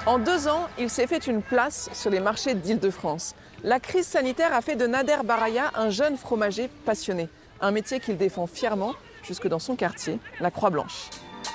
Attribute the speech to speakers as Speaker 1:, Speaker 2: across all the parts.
Speaker 1: En 2 ans, il s'est fait une place sur les marchés d'Île-de-France. La crise sanitaire a fait de Nader Baraya un jeune fromager passionné. Un métier qu'il défend fièrement jusque dans son quartier, la Croix-Blanche.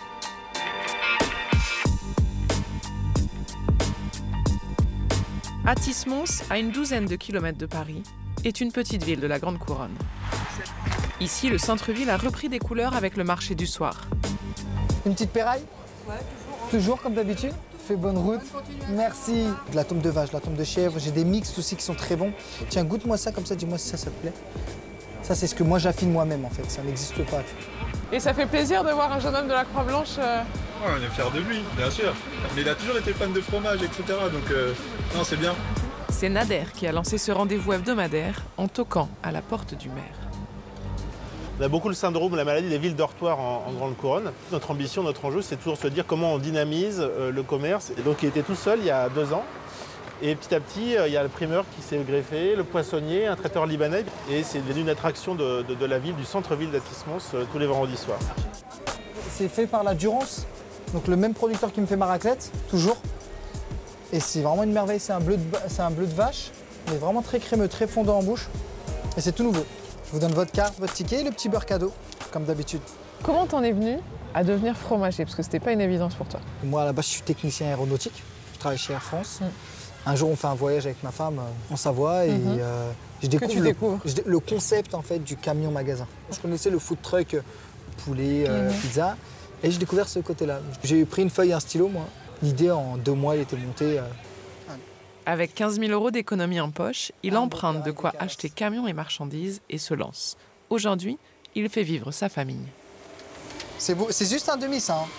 Speaker 1: Athis-Mons, à une douzaine de kilomètres de Paris, est une petite ville de la Grande Couronne. Ici, le centre-ville a repris des couleurs avec le marché du soir.
Speaker 2: Une petite péraille?
Speaker 3: Ouais, toujours.
Speaker 2: Toujours comme d'habitude? Fais bonne route. Merci. De la tombe de vache, de la tombe de chèvre, j'ai des mix aussi qui sont très bons. Tiens, goûte-moi ça comme ça, dis-moi si ça te plaît. Ça, c'est ce que moi j'affine moi-même en fait, ça n'existe pas.
Speaker 1: Et ça fait plaisir de voir un jeune homme de la Croix-Blanche.
Speaker 4: Ouais, on est fiers de lui, bien sûr. Mais il a toujours été fan de fromage, etc. Donc, non, c'est bien.
Speaker 1: C'est Nader qui a lancé ce rendez-vous hebdomadaire en toquant à la porte du maire.
Speaker 5: On a beaucoup le syndrome, la maladie des villes dortoirs en Grande Couronne. Notre ambition, notre enjeu, c'est toujours de se dire comment on dynamise le commerce. Et donc, il était tout seul il y a 2 ans. Et petit à petit, il y a le primeur qui s'est greffé, le poissonnier, un traiteur libanais. Et c'est devenu une attraction de la ville, du centre-ville d'Athis-Mons, tous les vendredis soirs.
Speaker 2: C'est fait par la Durance, donc le même producteur qui me fait ma raclette, toujours. Et c'est vraiment une merveille, c'est un bleu de vache, mais vraiment très crémeux, très fondant en bouche. Et c'est tout nouveau. Je vous donne votre carte, votre ticket et le petit beurre cadeau, comme d'habitude.
Speaker 1: Comment t'en es venu à devenir fromager? Parce que c'était pas une évidence pour toi.
Speaker 2: Moi, à la base, je suis technicien aéronautique. Je travaille chez Air France. Un jour, on fait un voyage avec ma femme en Savoie et je découvre le concept en fait, du camion-magasin. Je connaissais le food truck, poulet, pizza, et j'ai découvert ce côté-là. J'ai pris une feuille et un stylo, moi. L'idée, en 2 mois, elle était montée.
Speaker 1: Avec 15 000 € d'économie en poche, il emprunte de quoi acheter camions et marchandises et se lance. Aujourd'hui, il fait vivre sa famille.
Speaker 2: C'est beau, c'est juste un demi, ça. Hein.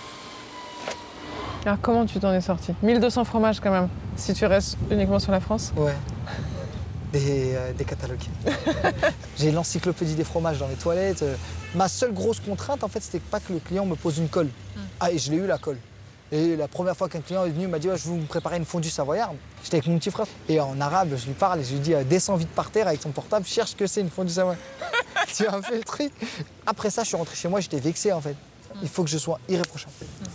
Speaker 1: Alors comment tu t'en es sorti? 1200 fromages quand même, si tu restes uniquement sur la France?
Speaker 2: Ouais. Des catalogues. J'ai l'encyclopédie des fromages dans les toilettes. Ma seule grosse contrainte, en fait, c'était pas que le client me pose une colle. Ah, et je l'ai eu, la colle. Et la première fois qu'un client est venu, il m'a dit ouais, « je vais vous préparer une fondue savoyarde ». J'étais avec mon petit frère. Et en arabe, je lui parle et je lui dis « descends vite par terre avec ton portable, cherche ce que c'est une fondue savoyarde ». Tu as fait le truc. Après ça, je suis rentré chez moi, j'étais vexé, en fait. Il faut que je sois irréprochable.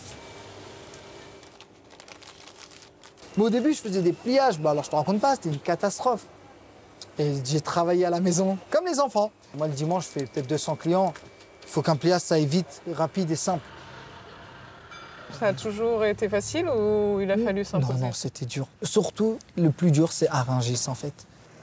Speaker 2: Mais au début, je faisais des pliages. Bah, alors, je te raconte pas, c'était une catastrophe. Et j'ai travaillé à la maison, comme les enfants. Moi, le dimanche, je fais peut-être 200 clients. Il faut qu'un pliage, ça aille vite, rapide et simple.
Speaker 1: Ça a toujours été facile ou il a fallu s'imposer?
Speaker 2: Non, c'était dur. Surtout, le plus dur, c'est à Rungis, en fait.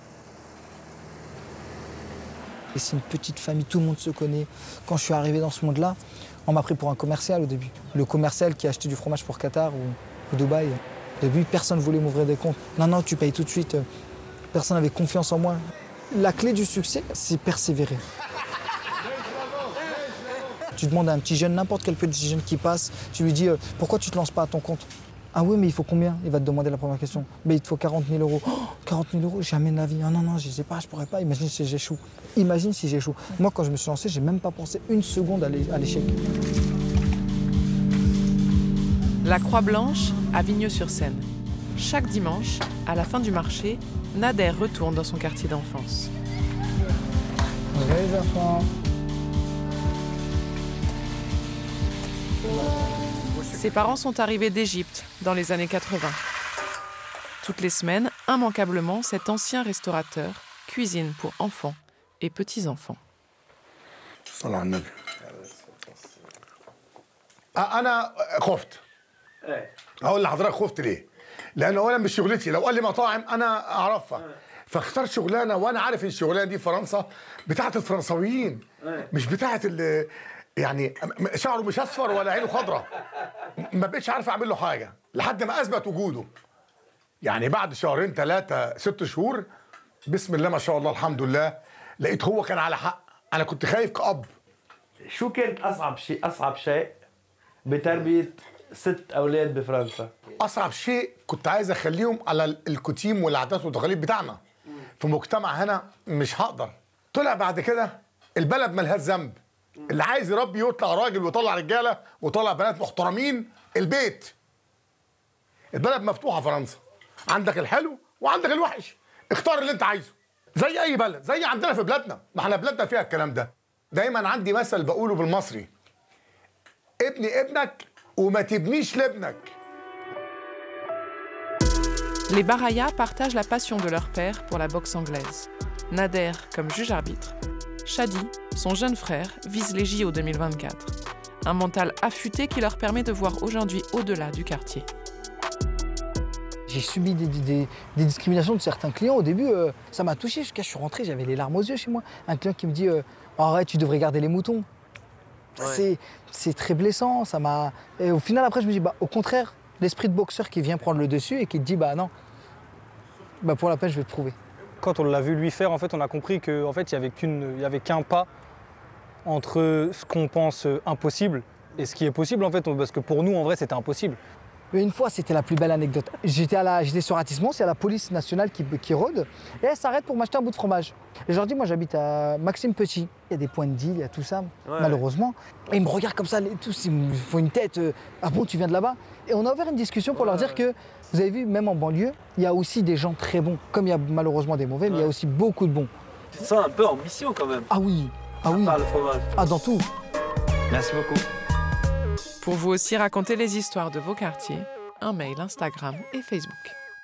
Speaker 2: Et c'est une petite famille, tout le monde se connaît. Quand je suis arrivé dans ce monde-là, on m'a pris pour un commercial au début. Le commercial qui a acheté du fromage pour Qatar ou Dubaï. Au début, personne ne voulait m'ouvrir des comptes. Non, tu payes tout de suite. Personne n'avait confiance en moi. La clé du succès, c'est persévérer. Tu demandes à un petit jeune, n'importe quel petit jeune qui passe, tu lui dis pourquoi tu ne te lances pas à ton compte? Ah oui, mais il faut combien? Il va te demander la première question. Mais il te faut 40 000 €. Oh, 40 000 €, jamais de la vie. Ah non, je ne sais pas, je ne pourrais pas. Imagine si j'échoue. Imagine si j'échoue. Moi, quand je me suis lancé, je n'ai même pas pensé une seconde à l'échec.
Speaker 1: La Croix-Blanche à Vigneux-sur-Seine. Chaque dimanche, à la fin du marché, Nader retourne dans son quartier d'enfance.
Speaker 2: Les enfants.
Speaker 1: Ses parents sont arrivés d'Égypte dans les années 80. Toutes les semaines, immanquablement, cet ancien restaurateur cuisine pour enfants et petits-enfants.
Speaker 6: صلى على النبي. أنا خفت. هقول لحضرتك خفت ليه؟ لأن أولا مش شغلتي، لو قال لي مطاعم أنا أعرفها. فاختار شغلانة وأنا عارف إن الشغلانة دي فرنسا بتاعت الفرنساويين مش بتاعت اللي يعني شعره مش أصفر ولا عينه خضراء. ما بقتش عارف أعمل له حاجة لحد ما أثبت وجوده. يعني بعد 2 3 6 شهور بسم الله ما شاء الله الحمد لله لقيت هو كان على حق. أنا كنت خايف كأب.
Speaker 7: شو كانت أصعب شيء بتربية 6 أولاد بفرنسا؟
Speaker 6: أصعب شيء كنت عايز أخليهم على الكتيم والعادات والتقاليد بتاعنا. في مجتمع هنا مش هقدر. طلع بعد كده البلد ملهاش ذنب. اللي عايز يربي يطلع راجل ويطلع رجالة ويطلع بنات محترمين البيت. البلد مفتوحة فرنسا. عندك الحلو وعندك الوحش. اختار اللي أنت عايزه. زي أي بلد، زي عندنا في بلادنا، ما احنا بلادنا فيها الكلام ده. دايما عندي مثل بقوله بالمصري. ابني ابنك وما تبنيش لابنك.
Speaker 1: Les Baraya partagent la passion de leur père pour la boxe anglaise. Nader comme juge-arbitre. Shadi, son jeune frère, vise les JO 2024. Un mental affûté qui leur permet de voir aujourd'hui au-delà du quartier.
Speaker 2: J'ai subi des discriminations de certains clients. Au début, ça m'a touché. Je suis rentré, j'avais les larmes aux yeux chez moi. Un client qui me dit arrête, tu devrais garder les moutons. Ouais. C'est très blessant. Et au final, après, je me dis au contraire, l'esprit de boxeur qui vient prendre le dessus et qui te dit non, pour la peine, je vais te prouver.
Speaker 3: Quand on l'a vu lui faire, en fait, on a compris qu'en fait, il n'y avait qu'un pas entre ce qu'on pense impossible et ce qui est possible, en fait, parce que pour nous, en vrai, c'était impossible.
Speaker 2: Mais une fois, c'était la plus belle anecdote. J'étais sur Ratissemont, c'est la police nationale qui rôde, et elle s'arrête pour m'acheter un bout de fromage. Et je leur dis, moi j'habite à Maxime Petit. Il y a des points de deal, il y a tout ça, malheureusement. Et ils me regardent comme ça, tous, ils me font une tête, ah bon, tu viens de là-bas? Et on a ouvert une discussion pour leur dire que, vous avez vu, même en banlieue, il y a aussi des gens très bons. Comme il y a malheureusement des mauvais, mais il y a aussi beaucoup de bons.
Speaker 7: Tu te sens un peu en mission quand même.
Speaker 2: Ah oui,
Speaker 7: le fromage.
Speaker 2: Ah, dans tout.
Speaker 7: Merci beaucoup.
Speaker 1: Pour vous aussi raconter les histoires de vos quartiers, un mail Instagram et Facebook.